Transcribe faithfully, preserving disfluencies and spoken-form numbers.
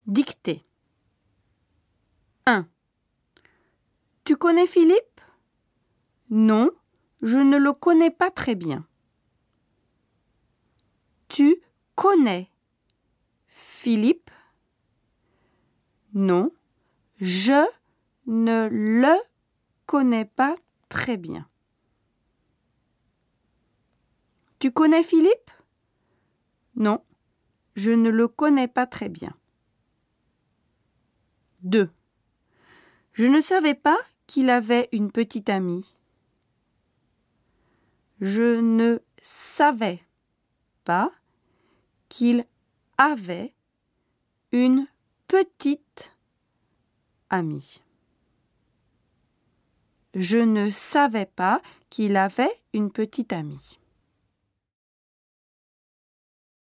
Dictée. un. Tu connais Philippe? Non, je ne le connais pas très bien. Tu connais Philippe? Non, je ne le connais pas très bien. Tu connais Philippe? Non, je ne le connais pas très bien. deux. Je ne savais pas qu'il avait une petite amie. Je ne savais pas qu'il avait une petite amie. Je ne savais pas qu'il avait une petite amie.